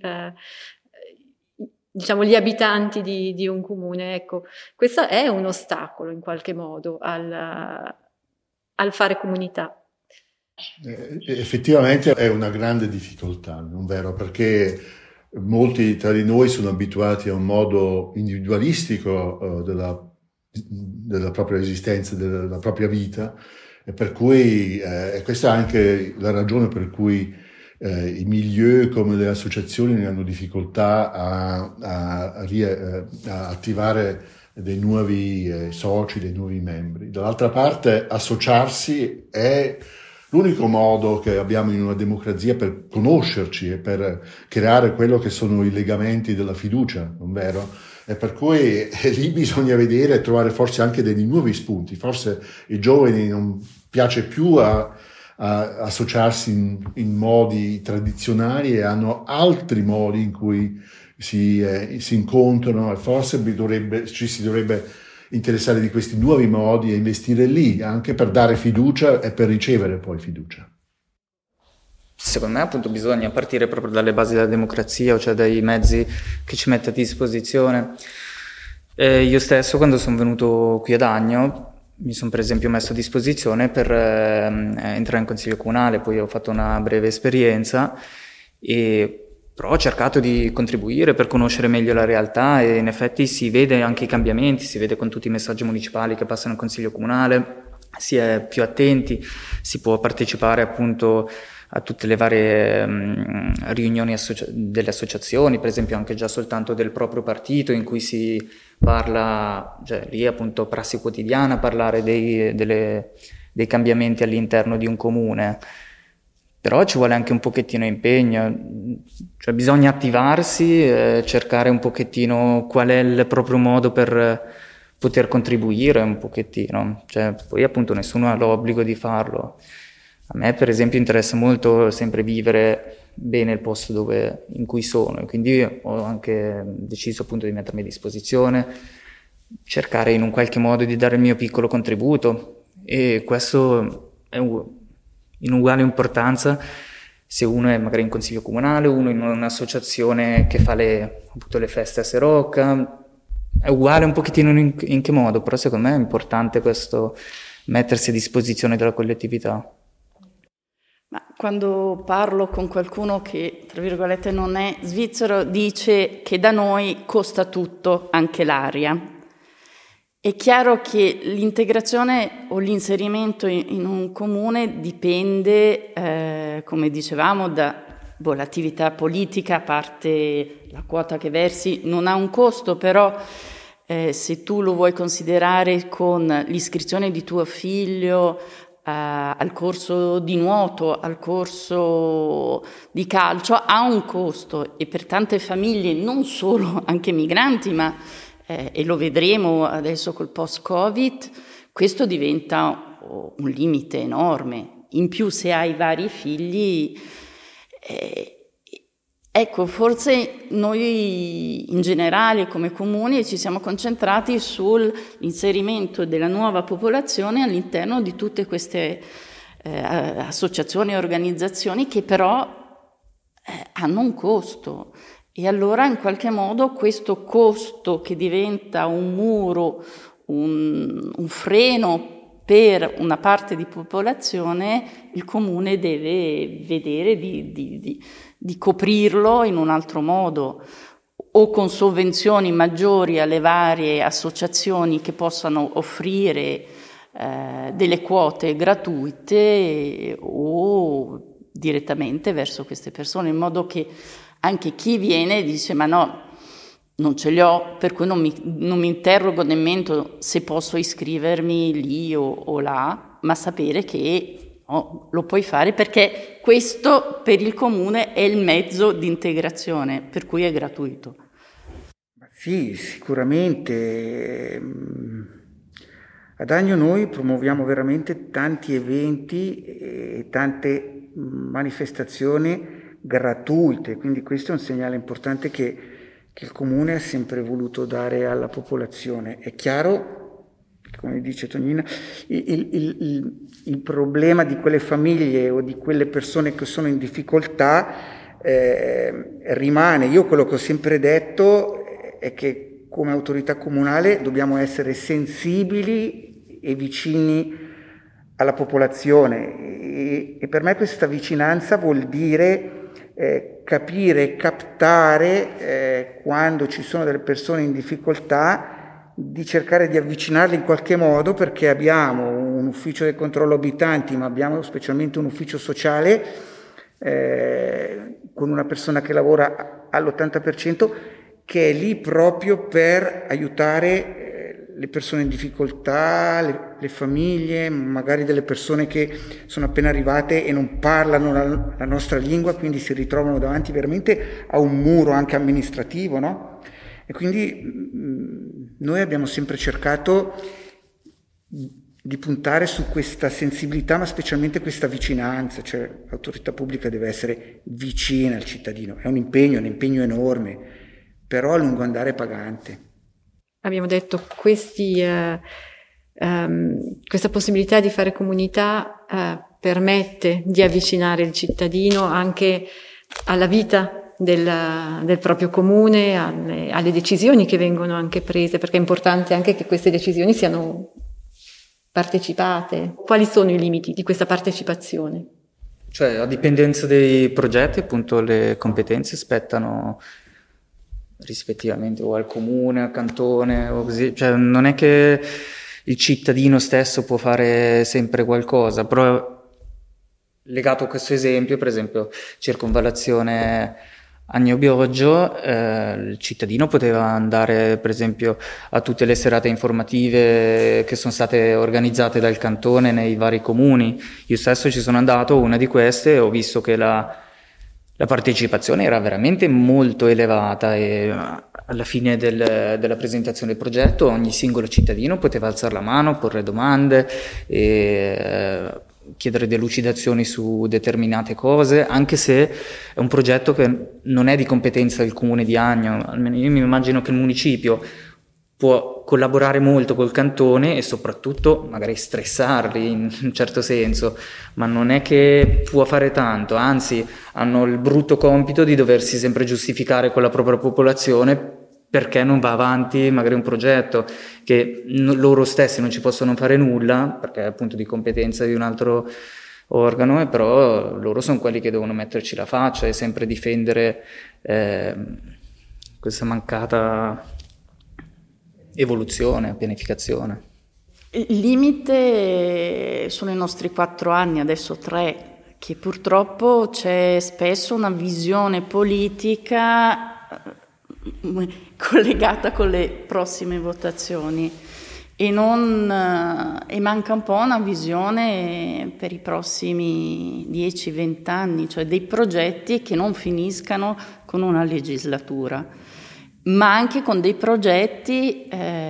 diciamo gli abitanti di un comune. Ecco, questo è un ostacolo in qualche modo al fare comunità. Effettivamente è una grande difficoltà, non vero? Perché molti tra di noi sono abituati a un modo individualistico della propria esistenza, della propria vita, e per cui questa è anche la ragione per cui i milieu come le associazioni ne hanno difficoltà a attivare dei nuovi soci, dei nuovi membri. Dall'altra parte, associarsi è l'unico modo che abbiamo in una democrazia per conoscerci e per creare quello che sono i legamenti della fiducia, non vero? E per cui lì bisogna vedere e trovare forse anche dei nuovi spunti. Forse ai giovani non piace più a associarsi in modi tradizionali e hanno altri modi in cui si incontrano, e forse ci si dovrebbe interessare di questi nuovi modi e investire lì, anche per dare fiducia e per ricevere poi fiducia. Secondo me appunto bisogna partire proprio dalle basi della democrazia, cioè dai mezzi che ci mette a disposizione. Io stesso, quando sono venuto qui ad Agno, mi sono per esempio messo a disposizione per entrare in consiglio comunale, poi ho fatto una breve esperienza, però ho cercato di contribuire per conoscere meglio la realtà, e in effetti si vede anche i cambiamenti, si vede con tutti i messaggi municipali che passano in consiglio comunale, si è più attenti, si può partecipare appunto a tutte le varie riunioni delle associazioni, per esempio anche già soltanto del proprio partito, in cui si parla, cioè lì appunto prassi quotidiana, parlare dei cambiamenti all'interno di un comune. Però ci vuole anche un pochettino impegno, cioè bisogna attivarsi, cercare un pochettino qual è il proprio modo per poter contribuire un pochettino, cioè poi appunto nessuno ha l'obbligo di farlo. A me per esempio interessa molto sempre vivere bene il posto in cui sono, e quindi ho anche deciso appunto di mettermi a disposizione, cercare in un qualche modo di dare il mio piccolo contributo, e questo è in uguale importanza se uno è magari in consiglio comunale, uno in un'associazione che fa appunto le feste a Serocca, è uguale un pochettino in che modo, però secondo me è importante questo, mettersi a disposizione della collettività. Ma quando parlo con qualcuno che, tra virgolette, non è svizzero, dice che da noi costa tutto, anche l'aria. È chiaro che l'integrazione o l'inserimento in un comune dipende, come dicevamo, dall'attività politica, a parte la quota che versi, non ha un costo, però se tu lo vuoi considerare con l'iscrizione di tuo figlio al corso di nuoto, al corso di calcio, ha un costo, e per tante famiglie, non solo anche migranti, ma e lo vedremo adesso col post-Covid, questo diventa un limite enorme. In più, se hai vari figli, ecco, forse noi in generale come comuni ci siamo concentrati sull'inserimento della nuova popolazione all'interno di tutte queste associazioni e organizzazioni che però hanno un costo. E allora in qualche modo questo costo, che diventa un muro, un freno per una parte di popolazione, il comune deve vedere di coprirlo in un altro modo, o con sovvenzioni maggiori alle varie associazioni che possano offrire delle quote gratuite, o direttamente verso queste persone, in modo che anche chi viene dice: ma no, non ce li ho, per cui non mi interrogo nemmeno se posso iscrivermi lì o là, ma sapere che lo puoi fare, perché questo per il comune è il mezzo di integrazione, per cui è gratuito. Sì, sicuramente. Ad Agno noi promuoviamo veramente tanti eventi e tante manifestazioni gratuite, quindi questo è un segnale importante che il Comune ha sempre voluto dare alla popolazione. È chiaro, come dice Tonina, il problema di quelle famiglie o di quelle persone che sono in difficoltà rimane. Io quello che ho sempre detto è che come autorità comunale dobbiamo essere sensibili e vicini alla popolazione, e per me questa vicinanza vuol dire capire, captare quando ci sono delle persone in difficoltà, di cercare di avvicinarli in qualche modo, perché abbiamo un ufficio del controllo abitanti, ma abbiamo specialmente un ufficio sociale con una persona che lavora all'80%, che è lì proprio per aiutare le persone in difficoltà, le famiglie, magari delle persone che sono appena arrivate e non parlano la nostra lingua, quindi si ritrovano davanti veramente a un muro anche amministrativo, no? E quindi noi abbiamo sempre cercato di puntare su questa sensibilità, ma specialmente questa vicinanza, cioè l'autorità pubblica deve essere vicina al cittadino. È un impegno enorme, però a lungo andare pagante. Abbiamo detto questa possibilità di fare comunità permette di avvicinare il cittadino anche alla vita del proprio comune, alle decisioni che vengono anche prese, perché è importante anche che queste decisioni siano partecipate. Quali sono i limiti di questa partecipazione? Cioè, a dipendenza dei progetti, appunto, le competenze spettano rispettivamente o al comune, al cantone, o così. Cioè, non è che il cittadino stesso può fare sempre qualcosa, però legato a questo esempio, per esempio, circonvallazione Agno-Bioggio, il cittadino poteva andare, per esempio, a tutte le serate informative che sono state organizzate dal cantone nei vari comuni. Io stesso ci sono andato a una di queste e ho visto che la partecipazione era veramente molto elevata e alla fine della presentazione del progetto ogni singolo cittadino poteva alzare la mano, porre domande e chiedere delucidazioni su determinate cose, anche se è un progetto che non è di competenza del comune di Agno. Almeno io mi immagino che il municipio può collaborare molto col cantone e soprattutto magari stressarli in un certo senso, ma non è che può fare tanto, anzi hanno il brutto compito di doversi sempre giustificare con la propria popolazione perché non va avanti magari un progetto che loro stessi non ci possono fare nulla perché è appunto di competenza di un altro organo, però loro sono quelli che devono metterci la faccia e sempre difendere questa mancata evoluzione, pianificazione. Il limite sono i nostri 4 anni, adesso 3, che purtroppo c'è spesso una visione politica collegata con le prossime votazioni e manca un po' una visione per i prossimi 10-20 anni, cioè dei progetti che non finiscano con una legislatura, ma anche con dei progetti,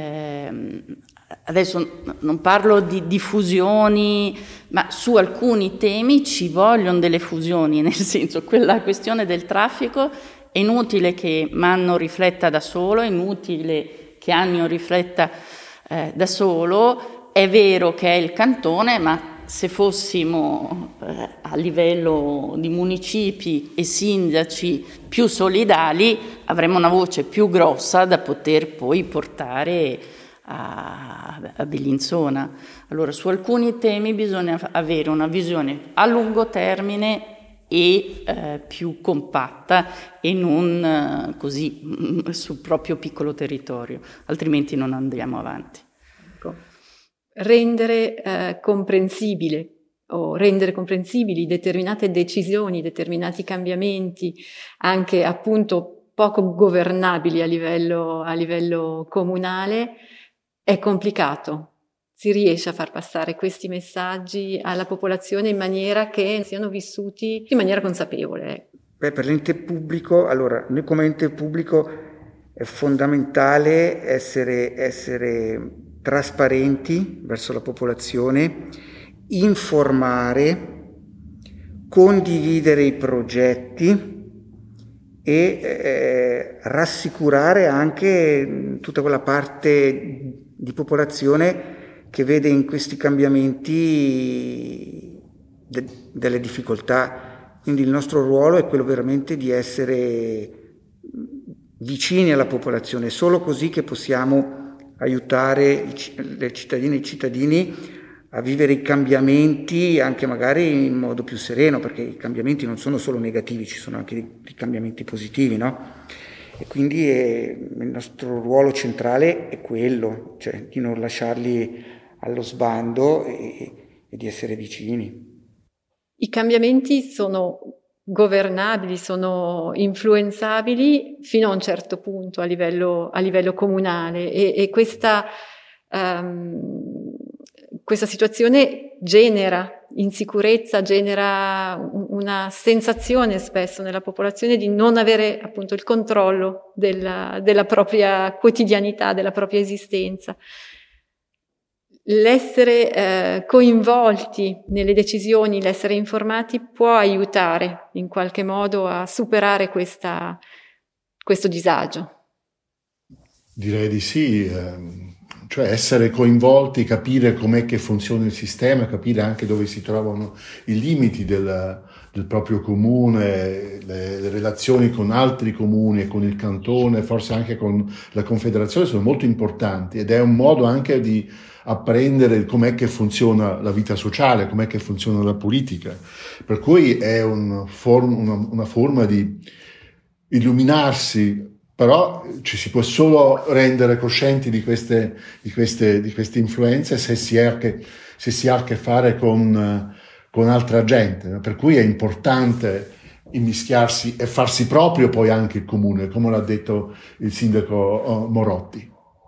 adesso non parlo di fusioni, ma su alcuni temi ci vogliono delle fusioni, nel senso quella questione del traffico è inutile che Manno rifletta da solo, è inutile che Agno rifletta da solo, è vero che è il cantone, ma se fossimo a livello di municipi e sindaci più solidali avremmo una voce più grossa da poter poi portare a Bellinzona. Allora su alcuni temi bisogna avere una visione a lungo termine e più compatta e non così sul proprio piccolo territorio, altrimenti non andiamo avanti. Rendere comprensibile o rendere comprensibili determinate decisioni, determinati cambiamenti, anche appunto poco governabili a livello comunale, è complicato. Si riesce a far passare questi messaggi alla popolazione in maniera che siano vissuti in maniera consapevole. Per l'ente pubblico, allora, noi come ente pubblico è fondamentale essere trasparenti verso la popolazione, informare, condividere i progetti e rassicurare anche tutta quella parte di popolazione che vede in questi cambiamenti delle difficoltà. Quindi il nostro ruolo è quello veramente di essere vicini alla popolazione, solo così che possiamo aiutare le cittadine e i cittadini a vivere i cambiamenti anche magari in modo più sereno, perché i cambiamenti non sono solo negativi, ci sono anche dei cambiamenti positivi, no? E quindi il nostro ruolo centrale è quello, cioè di non lasciarli allo sbando e di essere vicini. I cambiamenti sono governabili, sono influenzabili fino a un certo punto a livello comunale e questa situazione genera insicurezza, genera una sensazione spesso nella popolazione di non avere appunto il controllo della propria quotidianità, della propria esistenza. l'essere coinvolti nelle decisioni, l'essere informati può aiutare in qualche modo a superare questo disagio. Direi di sì, cioè essere coinvolti, capire com'è che funziona il sistema, capire anche dove si trovano i limiti del proprio comune, le relazioni con altri comuni, con il cantone, forse anche con la confederazione sono molto importanti, ed è un modo anche di apprendere com'è che funziona la vita sociale, com'è che funziona la politica, per cui è una forma di illuminarsi. Però ci si può solo rendere coscienti di queste influenze se si ha a che fare con altra gente, per cui è importante immischiarsi e farsi proprio poi anche il comune, come l'ha detto il sindaco Morotti.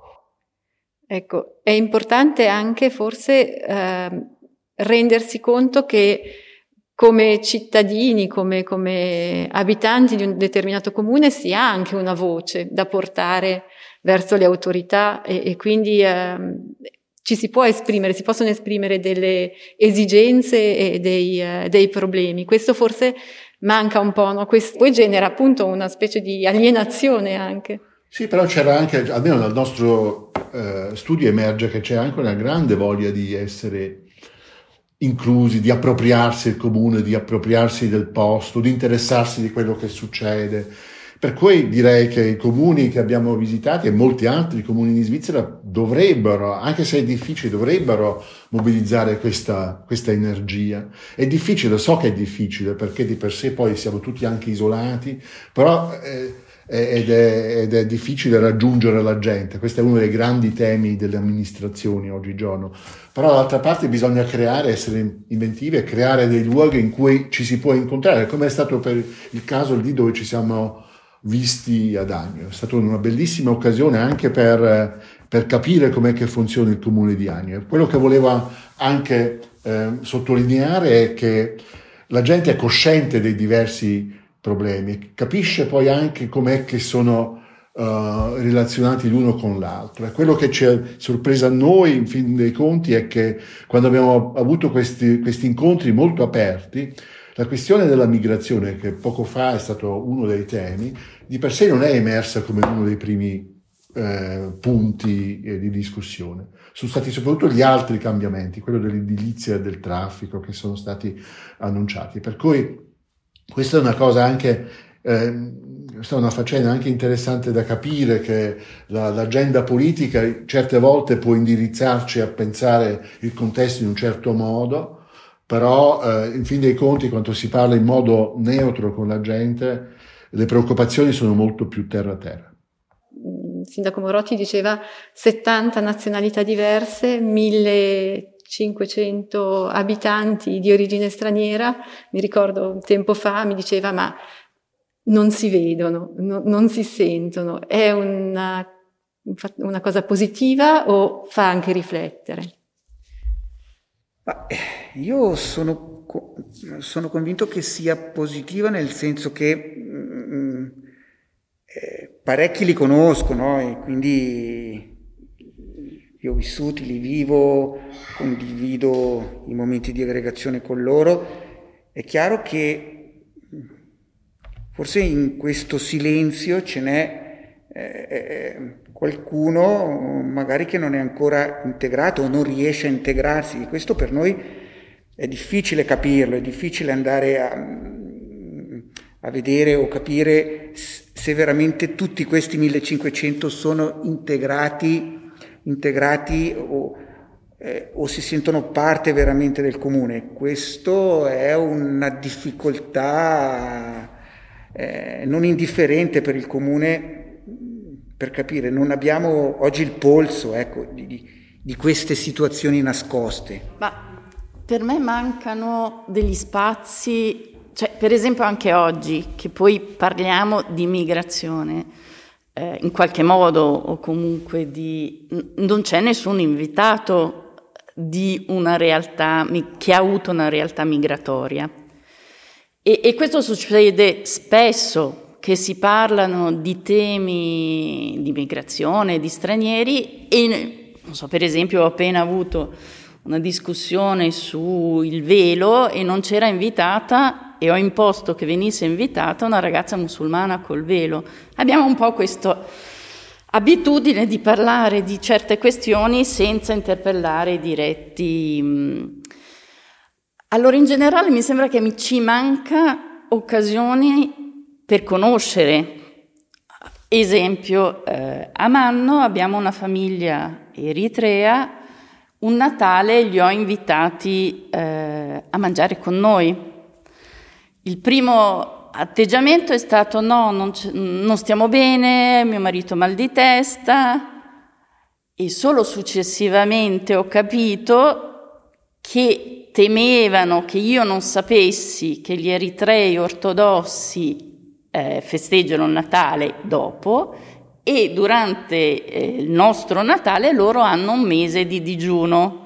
Ecco, è importante anche forse rendersi conto che come cittadini, come abitanti di un determinato comune si ha anche una voce da portare verso le autorità e quindi ci si possono esprimere delle esigenze e dei problemi. Questo forse manca un po', no? Questo poi genera appunto una specie di alienazione anche. Sì, però c'era anche, almeno dal nostro studio emerge che c'è anche una grande voglia di essere inclusi, di appropriarsi del comune, di appropriarsi del posto, di interessarsi di quello che succede. Per cui direi che i comuni che abbiamo visitato e molti altri comuni in Svizzera dovrebbero, anche se è difficile, dovrebbero mobilizzare questa energia. È difficile, so che è difficile, perché di per sé poi siamo tutti anche isolati, però ed è difficile raggiungere la gente. Questo è uno dei grandi temi delle amministrazioni oggigiorno. Però dall'altra parte bisogna essere inventivi e creare dei luoghi in cui ci si può incontrare, come è stato per il caso lì dove ci siamo visti ad Agno. È stata una bellissima occasione anche per capire com'è che funziona il comune di Agno. Quello che volevo anche sottolineare è che la gente è cosciente dei diversi problemi, capisce poi anche com'è che sono relazionati l'uno con l'altro. E quello che ci è sorpreso a noi, in fin dei conti, è che quando abbiamo avuto questi incontri molto aperti, la questione della migrazione, che poco fa è stato uno dei temi, di per sé non è emersa come uno dei primi punti di discussione. Sono stati soprattutto gli altri cambiamenti, quello dell'edilizia e del traffico, che sono stati annunciati. Per cui questa è una cosa anche, questa è una faccenda anche interessante da capire, che l'agenda politica certe volte può indirizzarci a pensare il contesto in un certo modo, però in fin dei conti, quando si parla in modo neutro con la gente, le preoccupazioni sono molto più terra-terra. Il sindaco Morotti diceva 70 nazionalità diverse, 1500 abitanti di origine straniera. Mi ricordo tempo fa mi diceva ma non si vedono, non si sentono. È una cosa positiva o fa anche riflettere? Io sono convinto che sia positiva, nel senso che parecchi li conosco, no? E quindi li ho vissuti, li vivo, condivido i momenti di aggregazione con loro. È chiaro che forse in questo silenzio ce n'è qualcuno magari che non è ancora integrato o non riesce a integrarsi. Di questo per noi è difficile capirlo, è difficile andare a vedere o capire se veramente tutti questi 1500 sono integrati o si sentono parte veramente del comune. Questo è una difficoltà non indifferente per il comune, per capire. Non abbiamo oggi il polso, ecco, di queste situazioni nascoste. Ma per me mancano degli spazi. Cioè, per esempio anche oggi, che poi parliamo di migrazione, in qualche modo o comunque non c'è nessun invitato di una realtà che ha avuto una realtà migratoria. E questo succede spesso, che si parlano di temi di migrazione, di stranieri, e non so, per esempio ho appena avuto una discussione sul velo e non c'era invitata e ho imposto che venisse invitata una ragazza musulmana col velo. Abbiamo un po' questa abitudine di parlare di certe questioni senza interpellare i diretti. Allora, in generale mi sembra che ci manca occasioni per conoscere. Esempio, a Manno abbiamo una famiglia eritrea, un Natale li ho invitati a mangiare con noi. Il primo atteggiamento è stato no, non stiamo bene, mio marito ha mal di testa, e solo successivamente ho capito che temevano che io non sapessi che gli eritrei ortodossi festeggiano il Natale dopo, e durante il nostro Natale loro hanno un mese di digiuno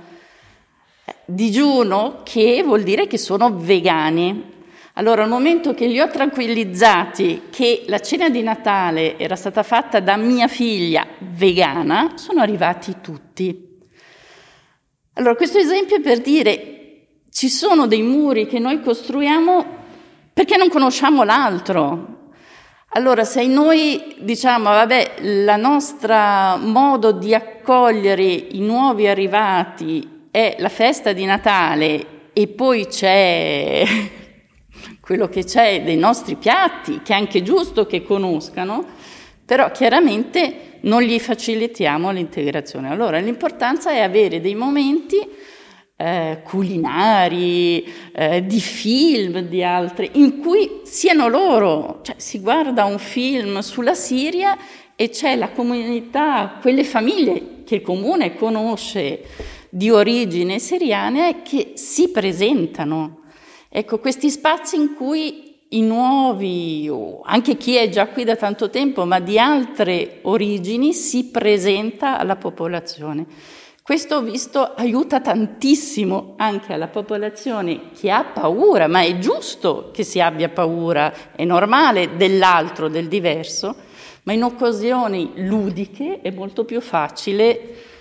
che vuol dire che sono vegani. Allora, al momento che li ho tranquillizzati che la cena di Natale era stata fatta da mia figlia vegana, sono arrivati tutti. Allora, questo esempio è per dire: ci sono dei muri che noi costruiamo perché non conosciamo l'altro. Allora, se noi diciamo, vabbè, la nostra modo di accogliere i nuovi arrivati è la festa di Natale e poi c'è quello che c'è dei nostri piatti, che è anche giusto che conoscano, però chiaramente non gli facilitiamo l'integrazione. Allora, l'importanza è avere dei momenti culinari, di film, di altri, in cui siano loro, cioè si guarda un film sulla Siria e c'è la comunità, quelle famiglie che il comune conosce di origine siriana e che si presentano. Ecco, questi spazi in cui i nuovi, o anche chi è già qui da tanto tempo, ma di altre origini, si presenta alla popolazione. Questo, ho visto, aiuta tantissimo anche alla popolazione che ha paura, ma è giusto che si abbia paura, è normale, dell'altro, del diverso, ma in occasioni ludiche è molto più facile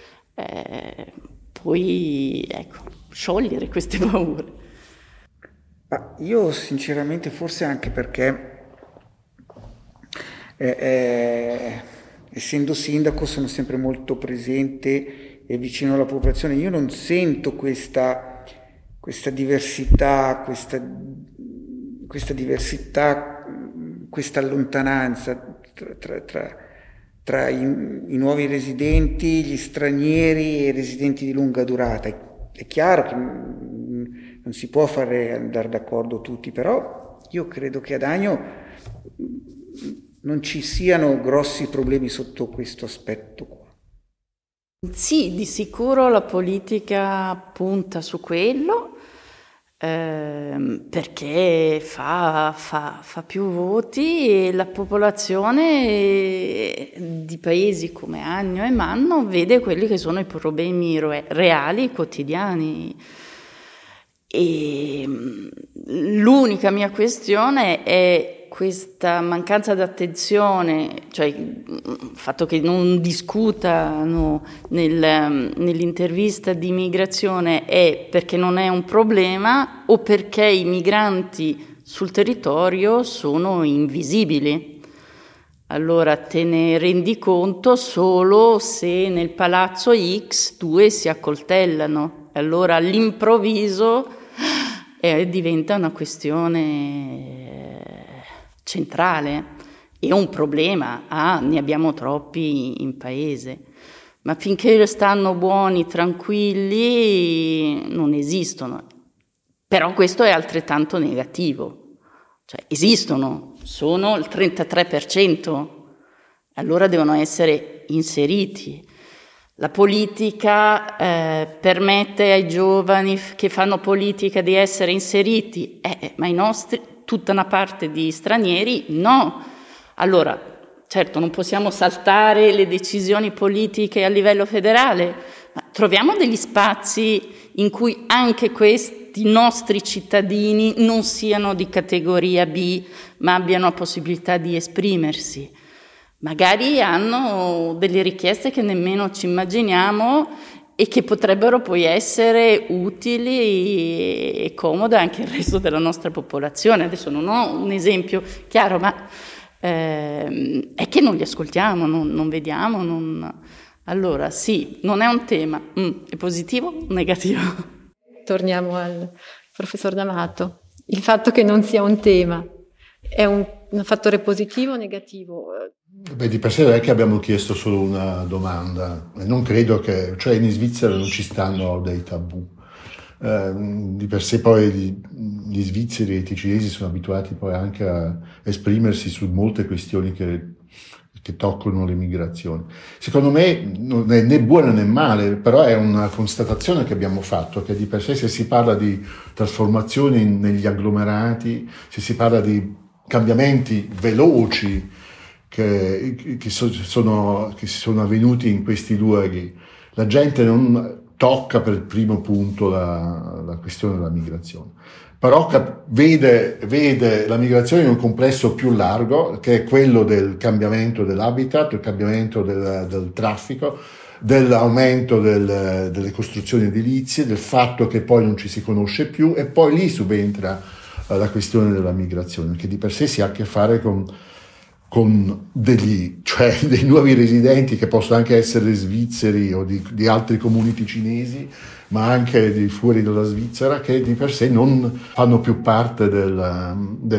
poi sciogliere queste paure. Ma io sinceramente, forse anche perché essendo sindaco sono sempre molto presente e vicino alla popolazione, io non sento questa diversità, questa lontananza tra i nuovi residenti, gli stranieri e i residenti di lunga durata. È chiaro che non si può fare andare d'accordo tutti, però io credo che ad Agno non ci siano grossi problemi sotto questo aspetto qua. Sì, di sicuro la politica punta su quello, perché fa più voti e la popolazione di paesi come Agno e Manno vede quelli che sono i problemi reali, quotidiani. E l'unica mia questione è questa mancanza d'attenzione, cioè il fatto che non discutano nell'intervista di immigrazione è perché non è un problema o perché i migranti sul territorio sono invisibili. Allora te ne rendi conto solo se nel palazzo X due si accoltellano. Allora all'improvviso diventa una questione centrale e un problema. Ne abbiamo troppi in paese, ma finché stanno buoni, tranquilli, non esistono. Però questo è altrettanto negativo, cioè esistono, sono il 33%, allora devono essere inseriti. La politica permette ai giovani che fanno politica di essere inseriti, ma i nostri, tutta una parte di stranieri, no. Allora, certo, non possiamo saltare le decisioni politiche a livello federale, ma troviamo degli spazi in cui anche questi nostri cittadini non siano di categoria B, ma abbiano la possibilità di esprimersi. magari hanno delle richieste che nemmeno ci immaginiamo e che potrebbero poi essere utili e comode anche al resto della nostra popolazione. Adesso non ho un esempio chiaro, ma è che non li ascoltiamo, non vediamo. Allora sì, non è un tema. È positivo o negativo? Torniamo al professor D'Amato. Il fatto che non sia un tema è un fattore positivo o negativo? Beh, di per sé non è che abbiamo chiesto solo una domanda, e non credo che, cioè in Svizzera non ci stanno dei tabù. Di per sé poi gli svizzeri e i ticinesi sono abituati poi anche a esprimersi su molte questioni che toccano le migrazioni. Secondo me non è né buona né male, però è una constatazione che abbiamo fatto, che di per sé se si parla di trasformazioni negli agglomerati, se si parla di cambiamenti veloci che sono avvenuti in questi luoghi, la gente non tocca per il primo punto la questione della migrazione, però vede la migrazione in un complesso più largo, che è quello del cambiamento dell'habitat, del cambiamento del traffico, dell'aumento delle costruzioni edilizie, del fatto che poi non ci si conosce più, e poi lì subentra la questione della migrazione, che di per sé si ha a che fare con dei nuovi residenti, che possono anche essere svizzeri o di altri comuni ticinesi, ma anche di fuori dalla Svizzera, che di per sé non fanno più parte della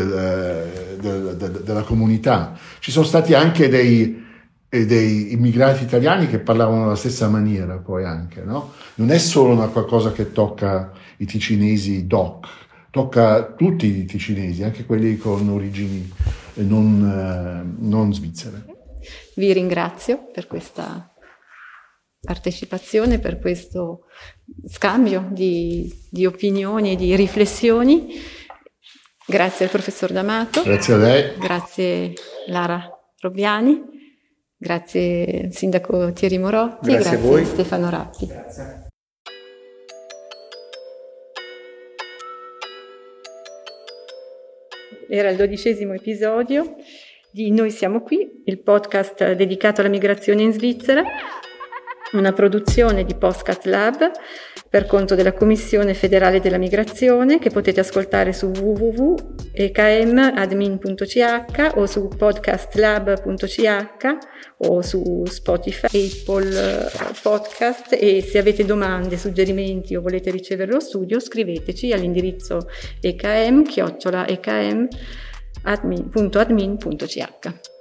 comunità. Ci sono stati anche dei immigrati italiani che parlavano alla stessa maniera, poi anche, no? Non è solo una qualcosa che tocca i ticinesi doc, tocca tutti i ticinesi, anche quelli con origini non svizzere. Vi ringrazio per questa partecipazione, per questo scambio di opinioni e di riflessioni. Grazie al professor D'Amato. Grazie a lei. Grazie Lara Robbiani. Grazie al sindaco Thierry Morotti. Grazie a voi. Stefano Rappi. Grazie. Era il 12° episodio di Noi siamo qui, il podcast dedicato alla migrazione in Svizzera, una produzione di Postcat Lab per conto della Commissione Federale della Migrazione, che potete ascoltare su www.ekmadmin.ch o su podcastlab.ch o su Spotify, Apple Podcast. E se avete domande, suggerimenti o volete ricevere lo studio, scriveteci all'indirizzo ekm@ekm.admin.ch.